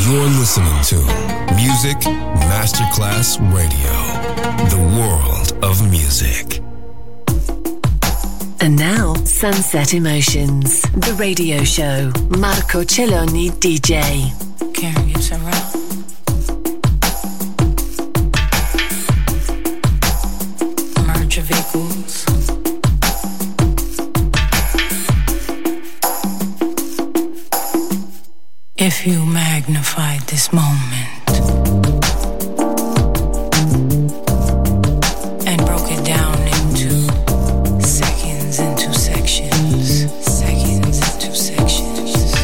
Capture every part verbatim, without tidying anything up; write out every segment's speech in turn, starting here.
You're listening to Music Masterclass Radio, the world of music. And now, Sunset Emotions, the radio show. Marco Celloni D J. Karen Gibson Rowe. Merge of equals. If you magnified this moment and broke it down into seconds, into sections, seconds, into sections,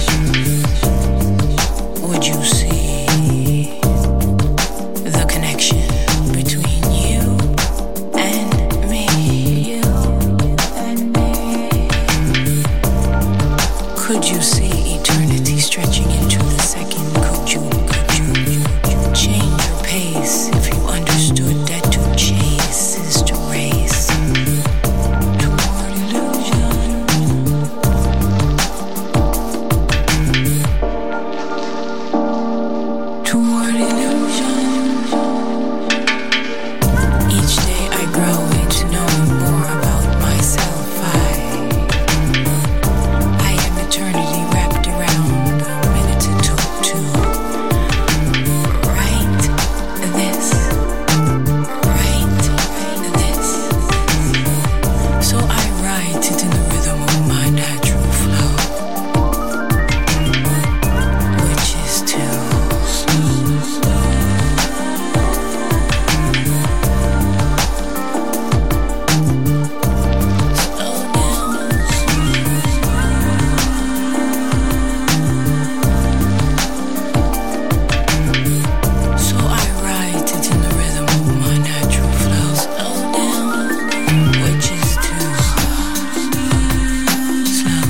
would you see the connection between you and me? You and me. Could you see eternity stretching into the second? Could you, could you, change your pace if you understood that to chase is to race toward illusion? Toward illusion. Each day I grow into knowing more about myself. I, I am eternity wrapped around the minutes it took to write this, write this. So I write it in the rhythm of my natural flow, which is to slow So I write it in the rhythm of my natural flow. Slow down, which is to slow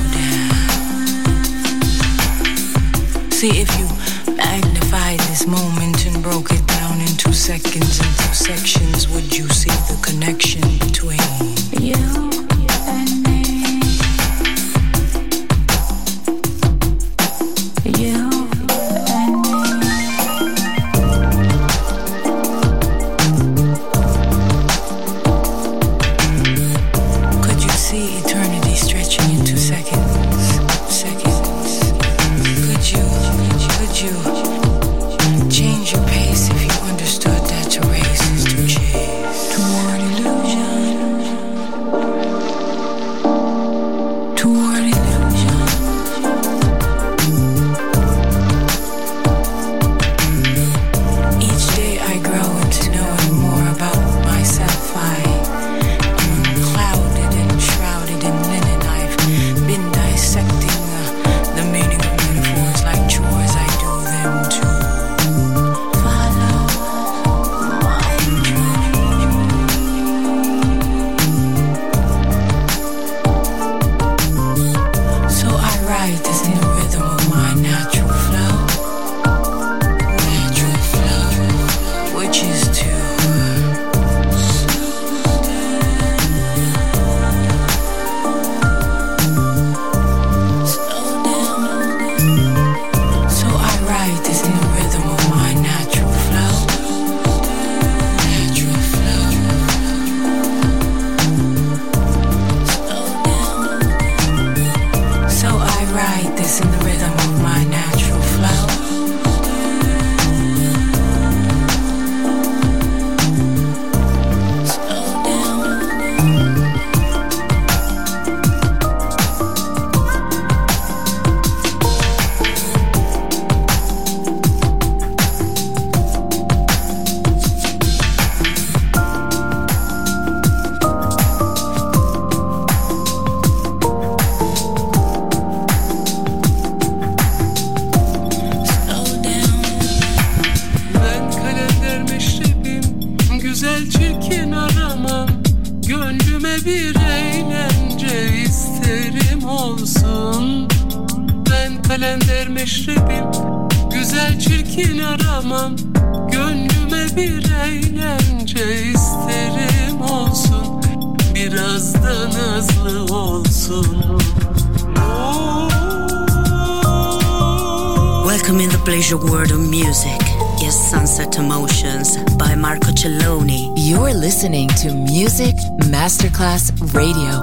down. See, if you magnified this moment and broke it down into seconds, into sections, would you see the connection between you and me? You and me. Could you see eternity stretching into seconds? Seconds. Could you, could you change your pace if you understood that to race is to chase toward illusion? Toward illusion. Each day I grow into knowing more about myself. I am clouded and shrouded in linen. I've been dissecting uh, the meaning of metaphors like chores. I do them to follow my dream. So I write this in the rhythm of my natural flow, natural flow, which is to slow down. So I write this in the rhythm of my natural flow, natural flow. Slow down. So I write this in the rhythm of my natural flow. Slow down. Slow down. Ben kalender meşrebim, güzel çirkin aramam. Gönlüme bir eğlence isterim olsun. Ben kalender meşrebim, güzel çirkin aramam. Gönlüme bir eğlence isterim olsun. Biraz da nazlı olsun. Welcome in the pleasure world of music is Sunset Emotions by Marco Celloni. You're listening to Music Masterclass Radio.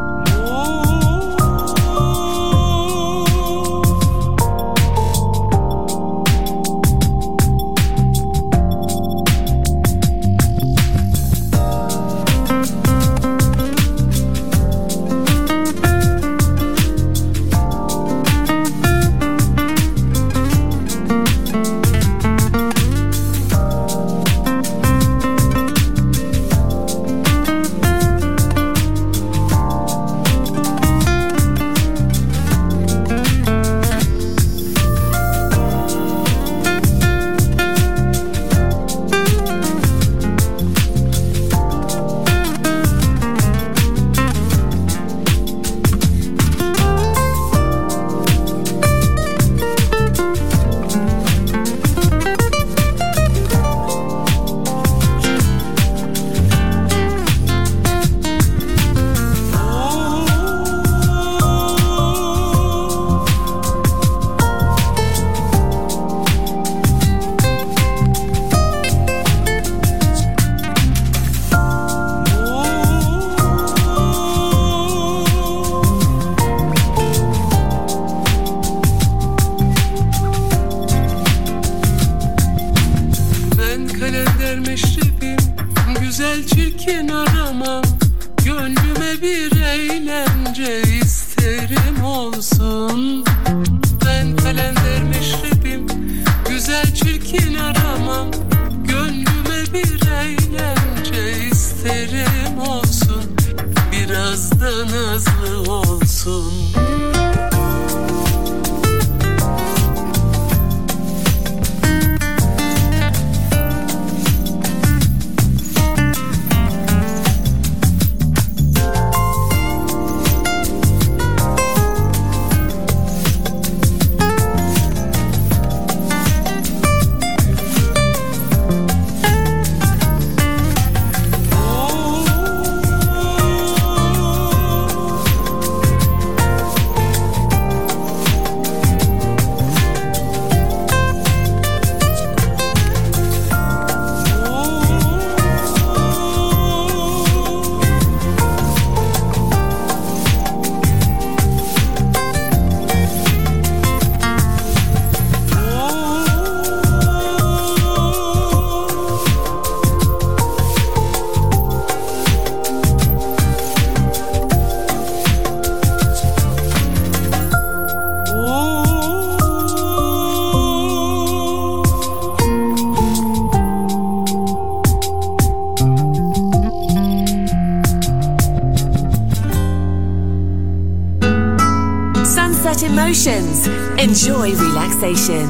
Enjoy relaxation.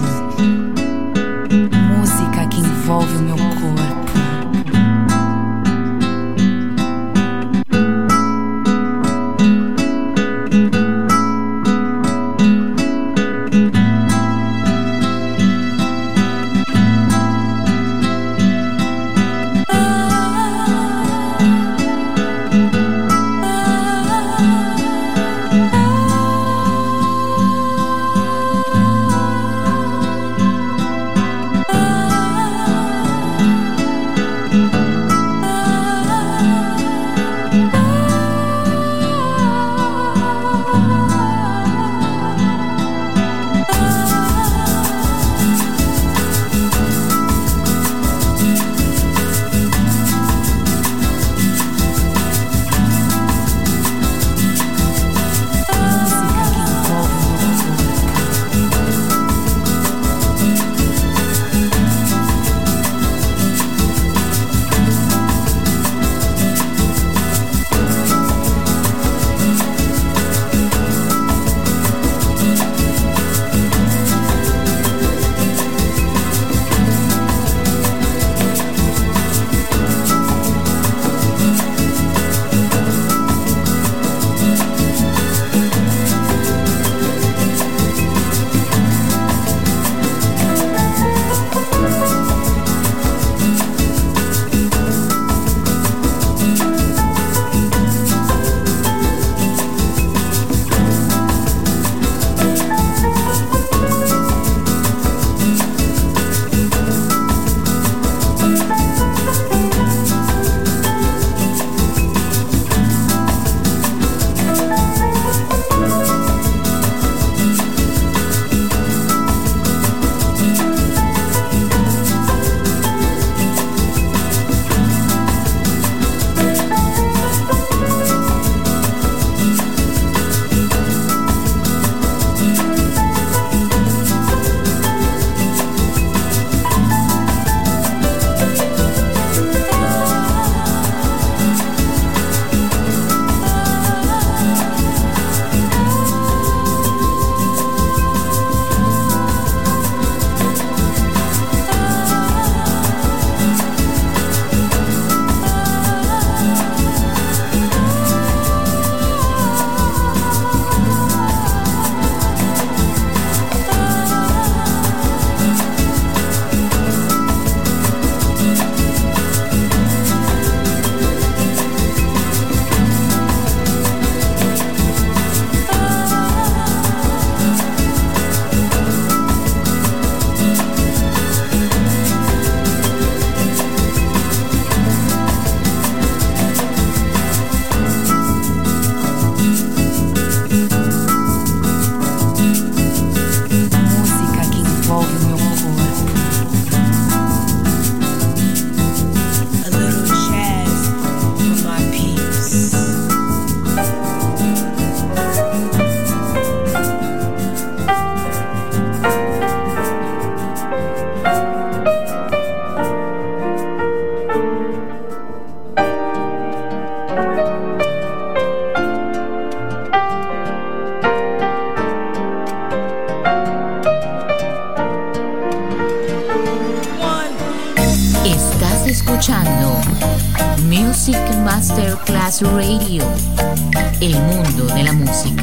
Música que envolve o meu corpo. escuchando Music Masterclass Radio, el mundo de la música.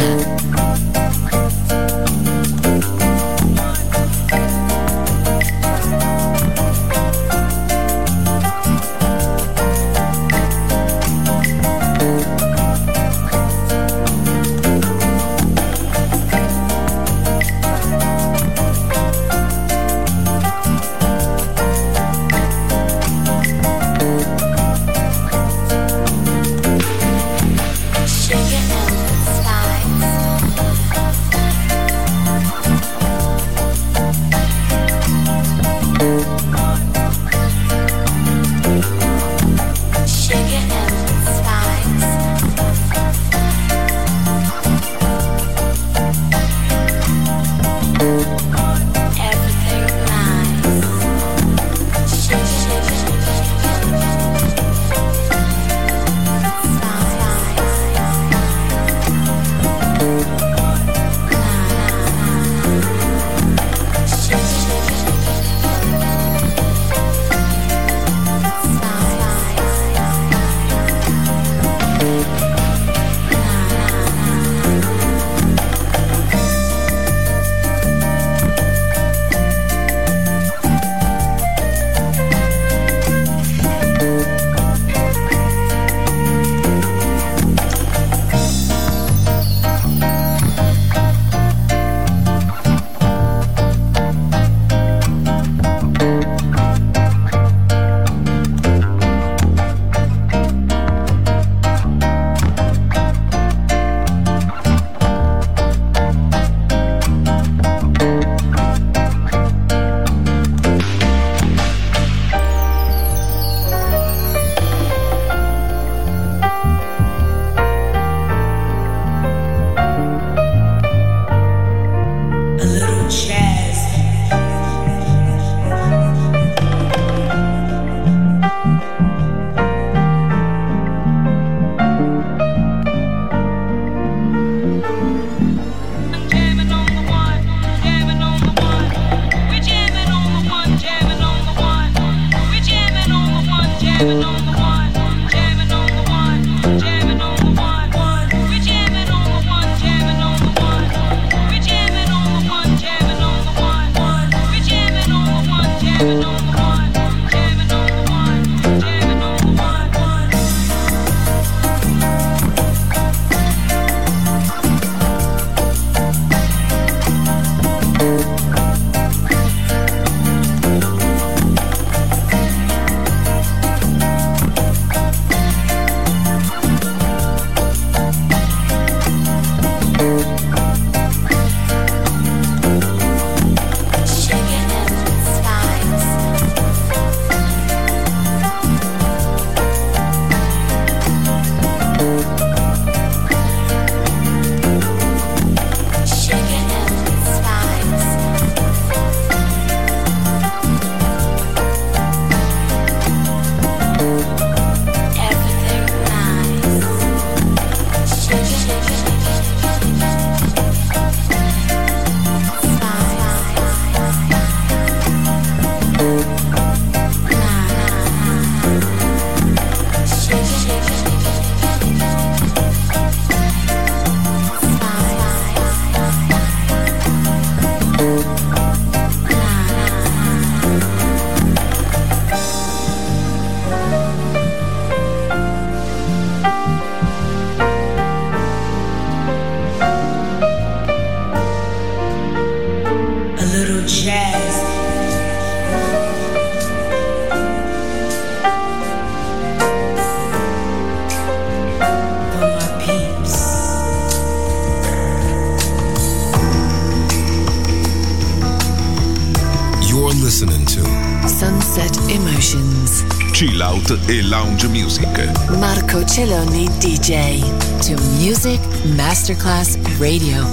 Chill Out e Lounge Music. Marco Celloni D J. To Music Masterclass Radio.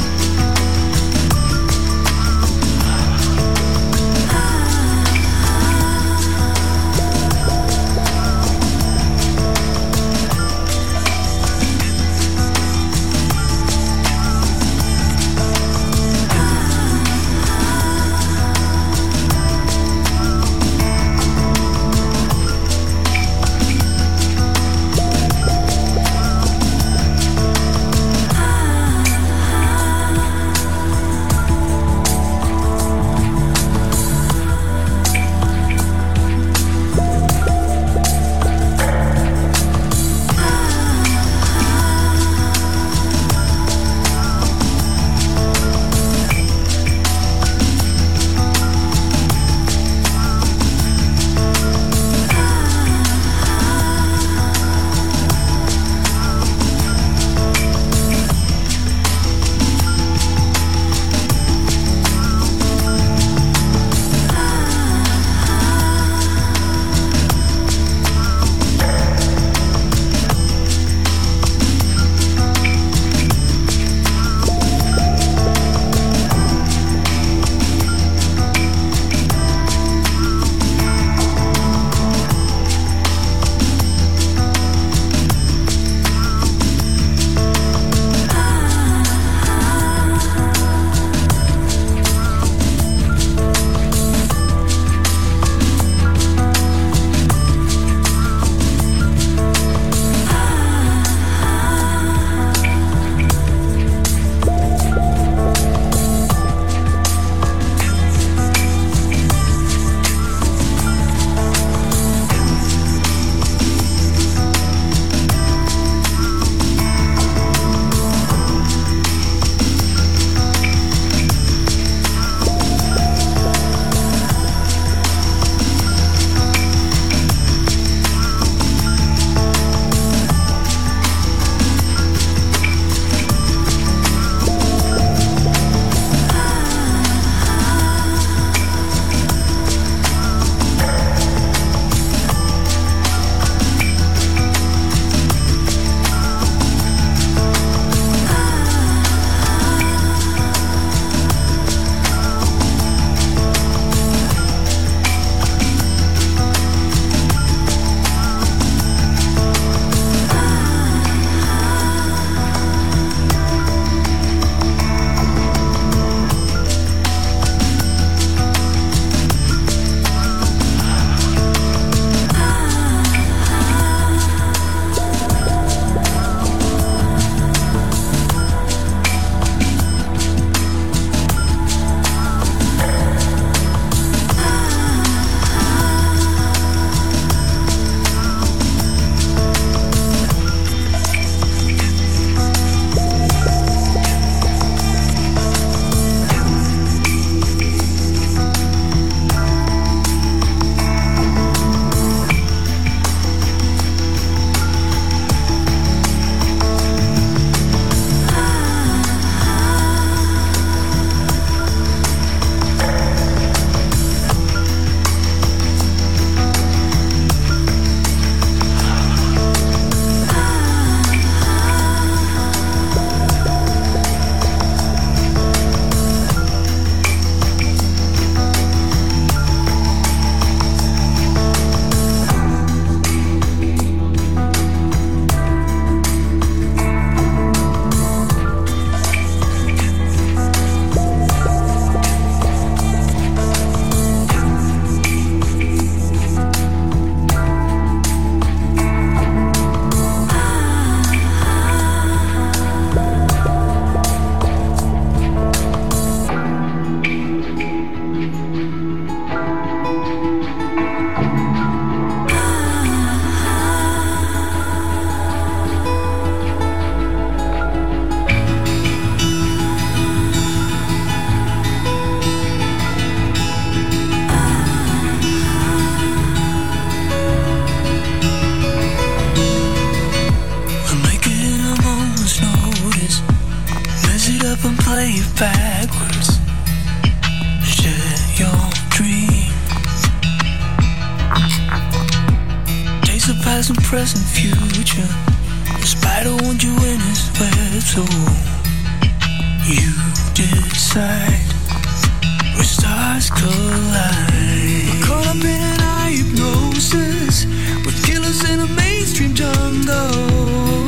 Ah past and present future. The spider won't you in his web, so you decide where stars collide. Caught up in an eye hypnosis with killers in a mainstream jungle.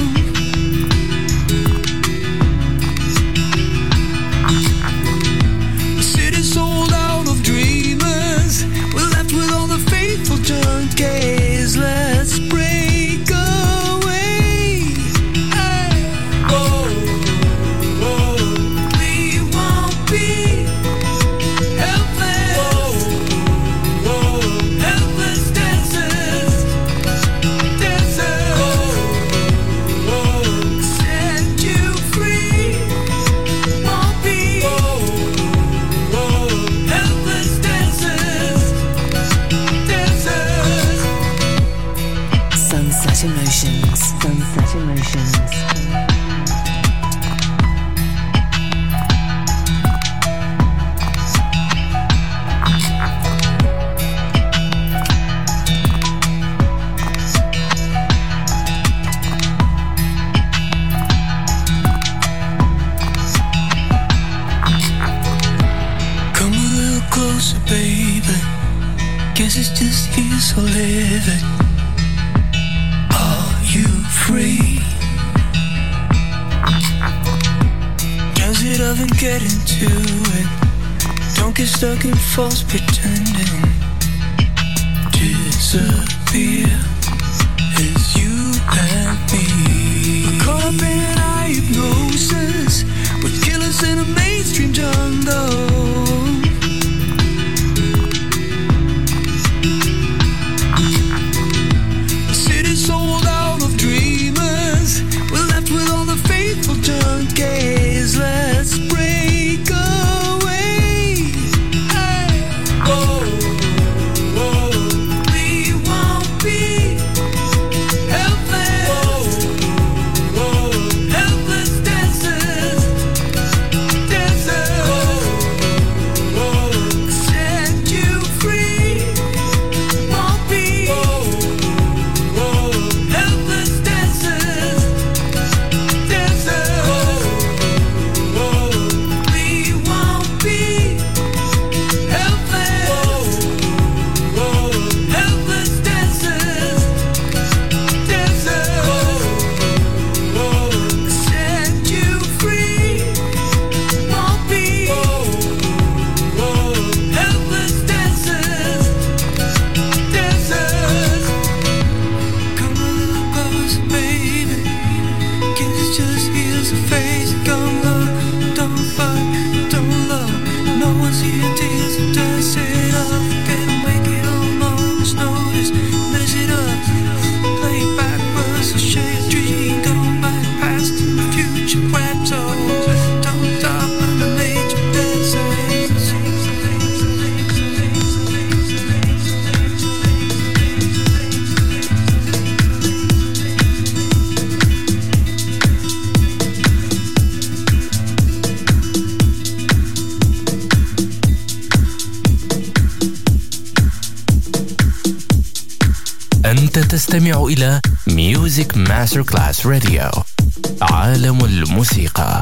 The city's sold out of dreamers. We're left with all the faithful junkies. Let's break away. Hey. Whoa, whoa. We won't be helpless. Whoa, whoa. Helpless dancers, dancers. Whoa, whoa. Set you free. Won't be. Whoa, whoa. Helpless dancers, dancers. Sunset Emotions. Sunset Emotions. Come a little closer, baby. Guess it's just here, so live it. Are you free? Does it ever get into it? Don't get stuck in false pretending. Disappear as you and me. Caught up in an eye hypnosis with killers in a mainstream jungle. The city's sold out of dreamers. We're left with all the faithful junkies. Let's break away. Hey. Whoa, whoa. We won't be helpless. Whoa, whoa. Helpless dancers, dancers. Whoa, whoa. Set you free. Won't be. Whoa, whoa. Helpless dancers, dancers. Whoa, whoa. We won't be helpless. Whoa, whoa. Helpless dancers, dancers. Whoa, whoa. Set you free. Won't be. Whoa, whoa. Helpless dancers, dancers. Come a little closer, baby. Guess it's just here's the face. Come low, don't fight, don't love. No one's here to dance it up. Gotta make it almost notice. Mess it up, play it backwards, share a dream. Go back past the future, wrapped up. Don't stop when the nature dances. أنت تستمع إلى Music Masterclass Radio. عالم الموسيقى.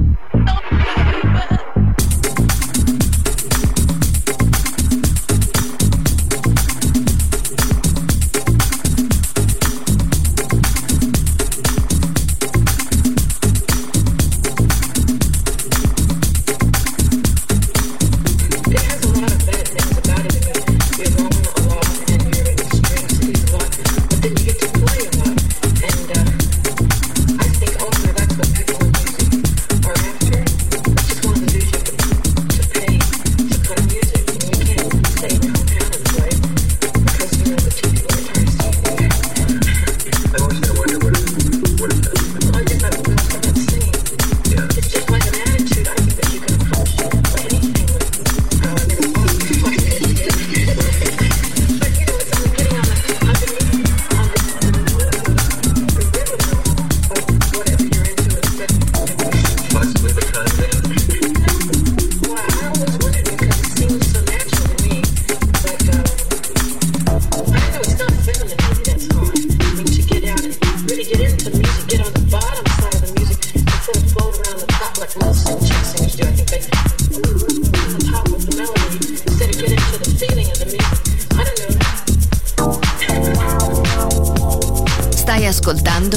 Stai ascoltando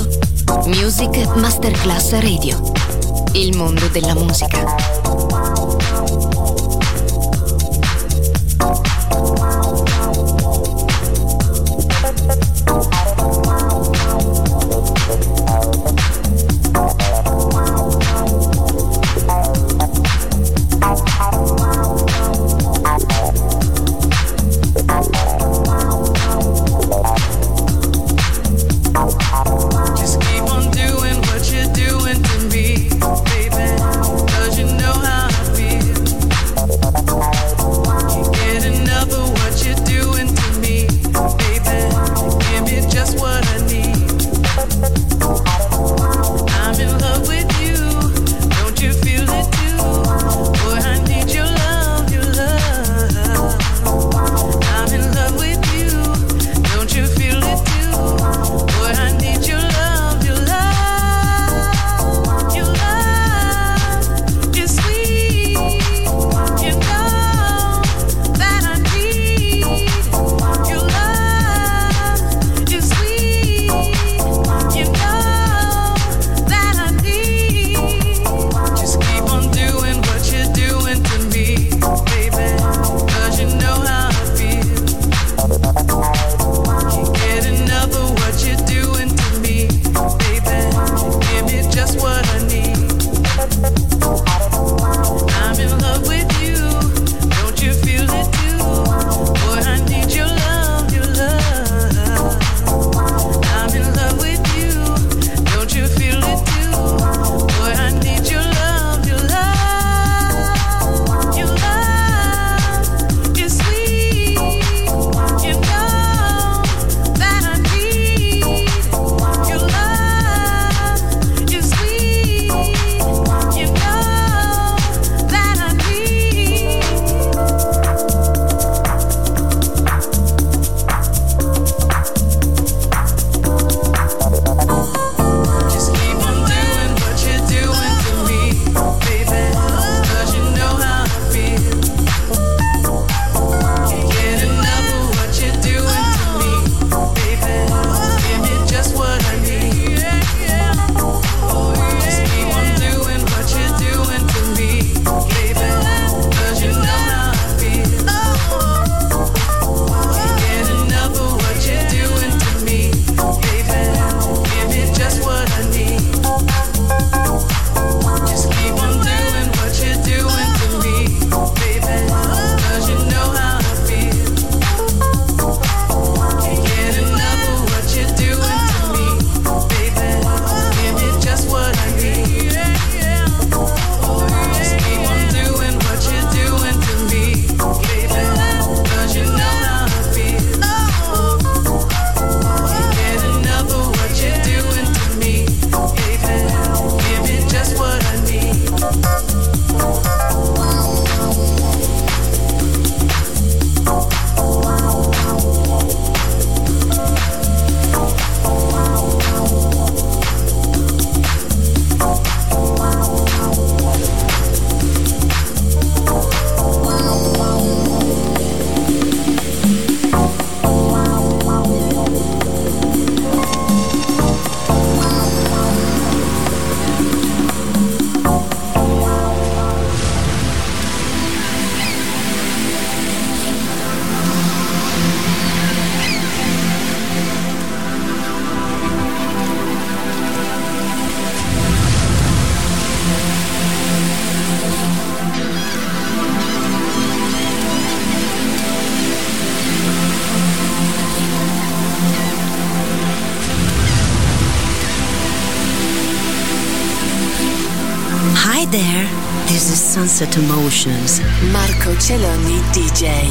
Music Masterclass Radio, il mondo della musica. Doing what you're doing to me, baby. 'Cause you know how I feel. Hi there, this is Sunset Emotions. Marco Celloni D J.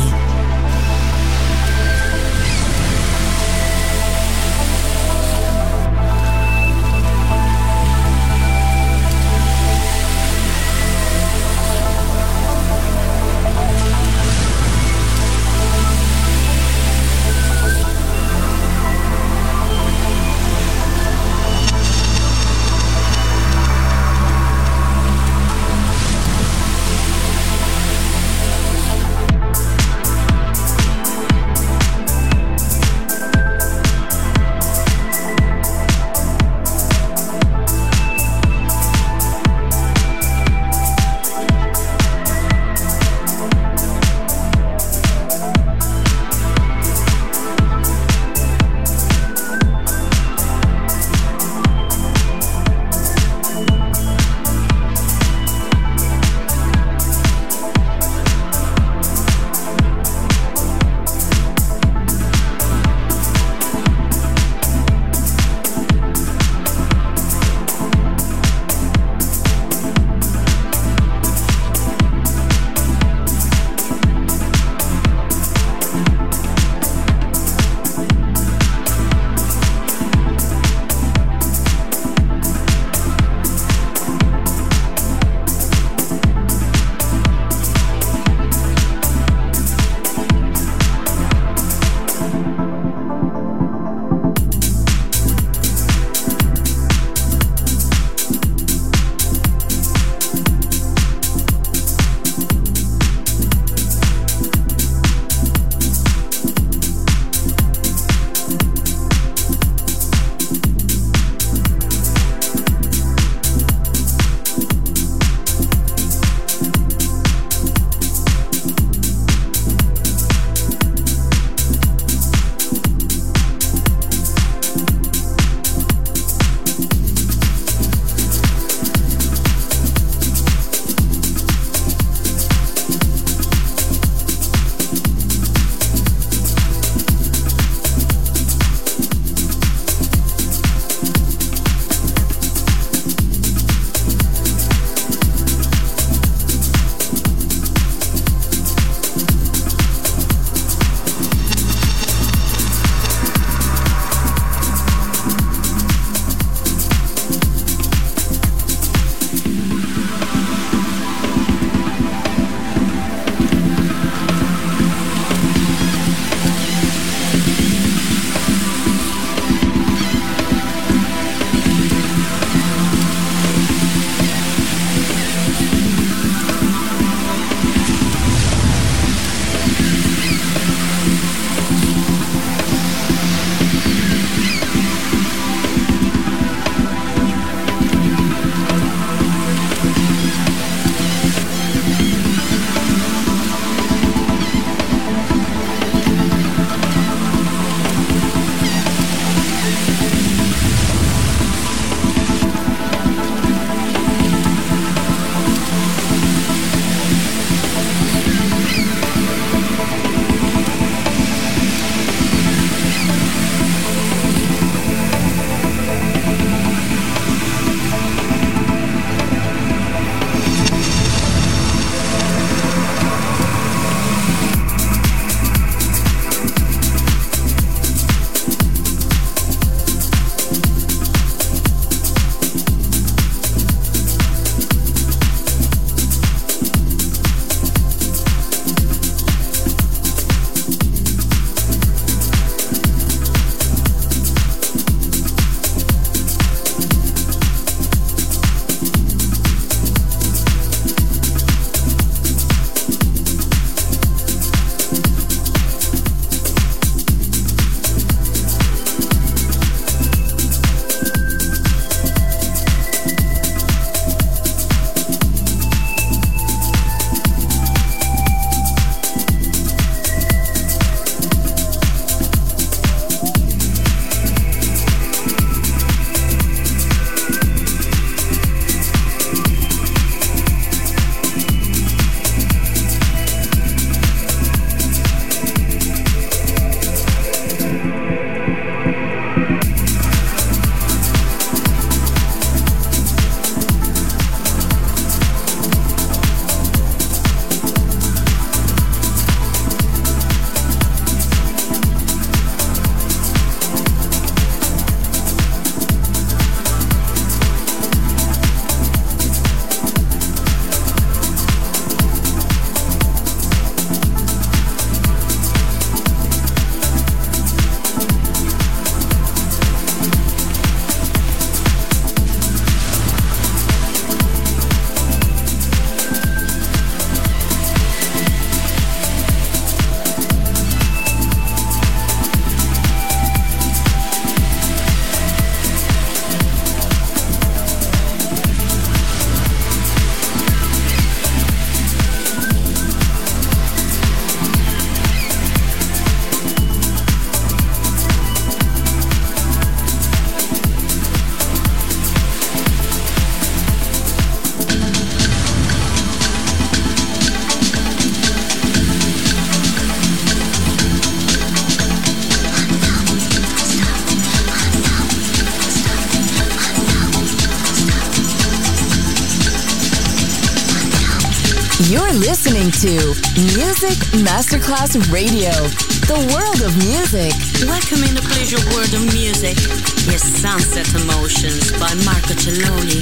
You're listening to Music Masterclass Radio, the world of music. Welcome in the pleasure world of music. Yes, Sunset Emotions by Marco Celloni.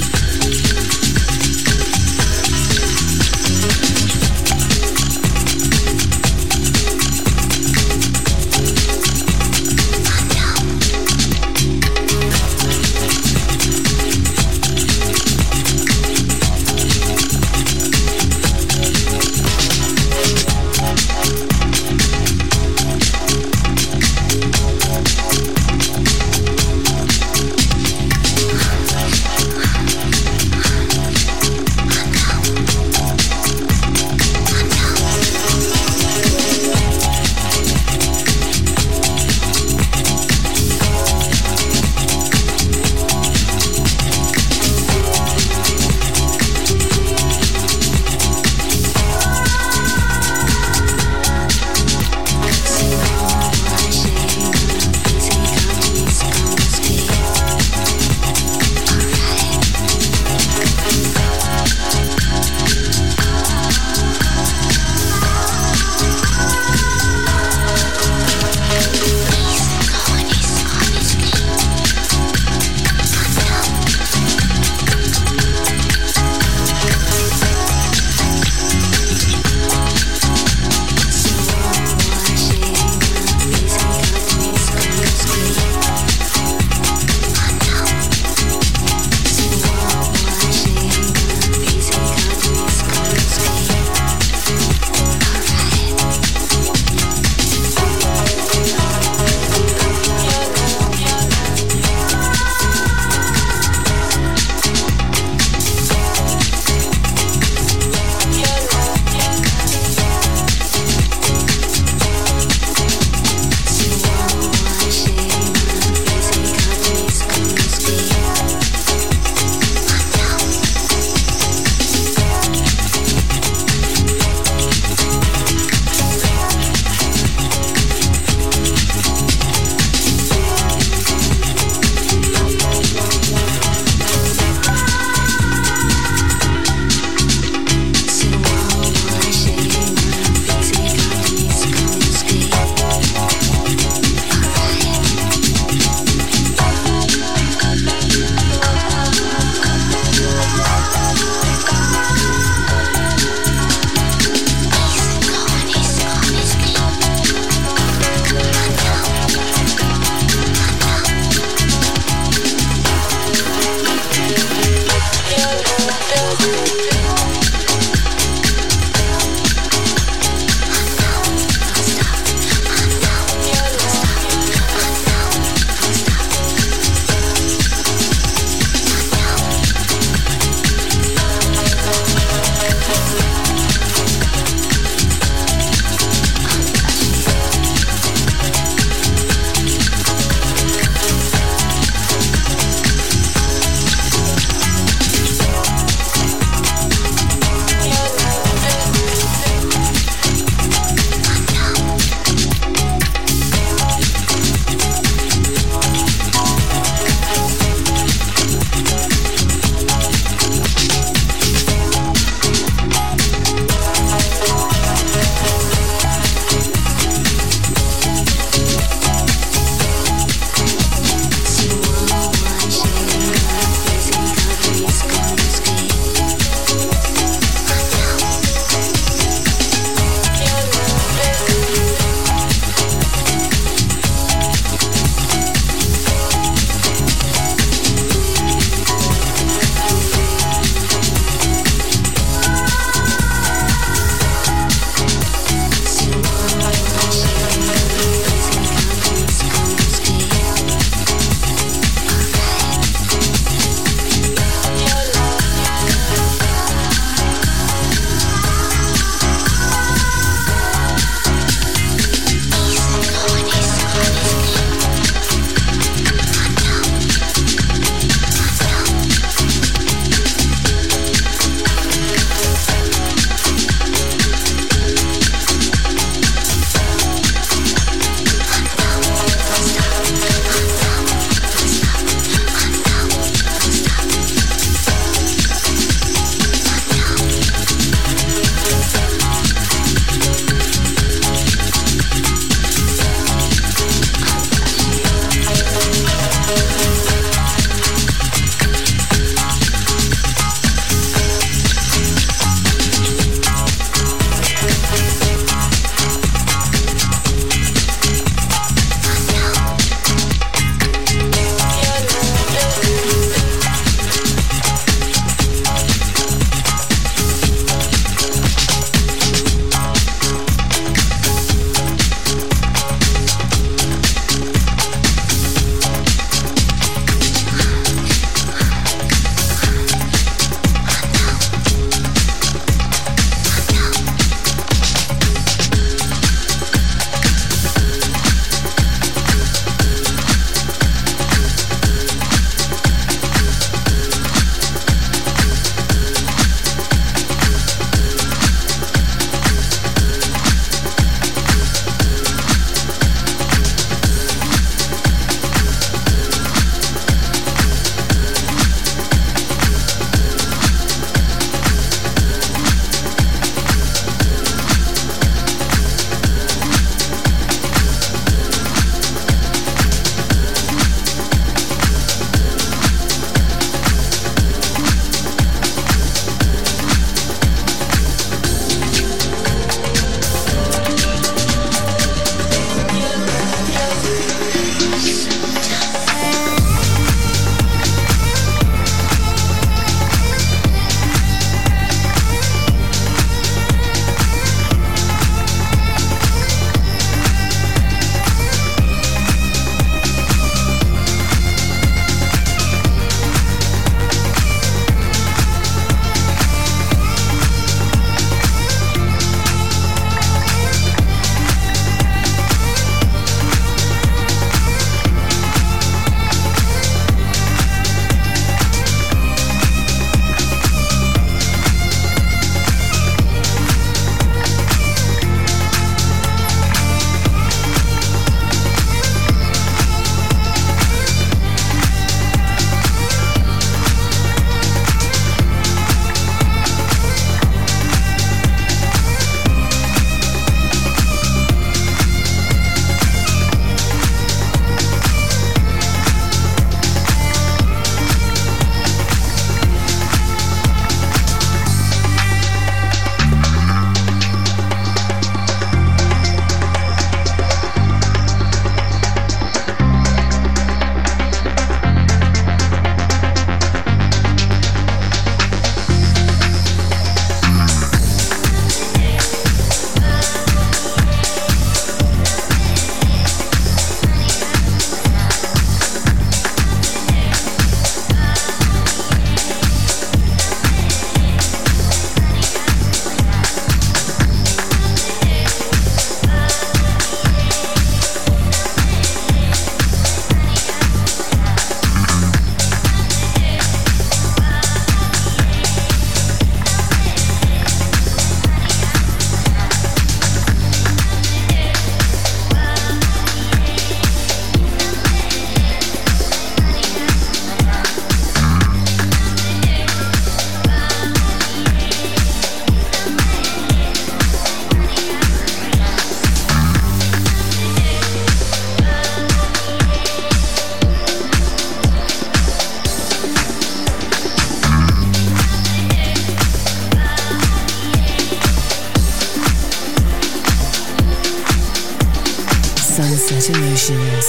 Sunset Emotions.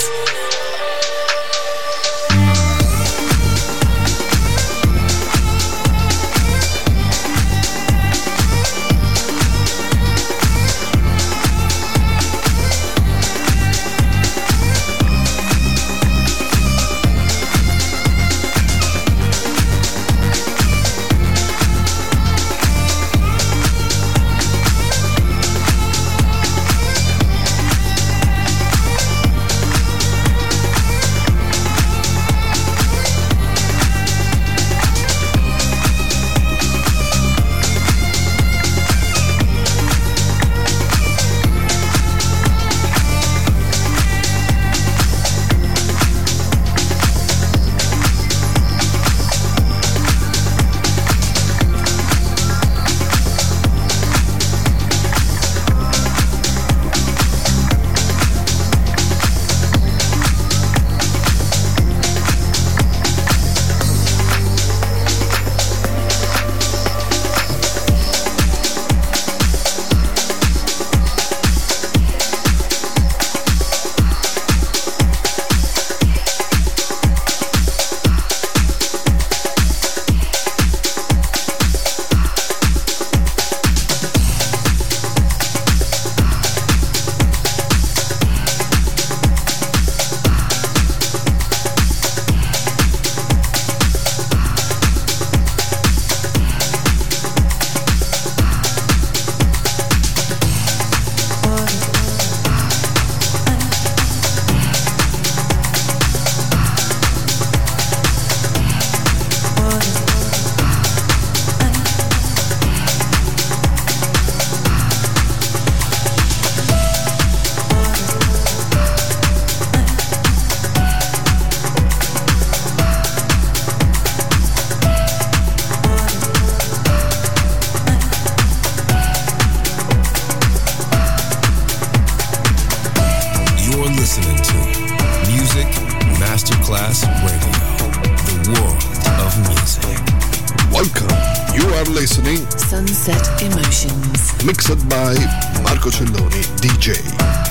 Sunset Emotions. Mixed by Marco Celloni, D J.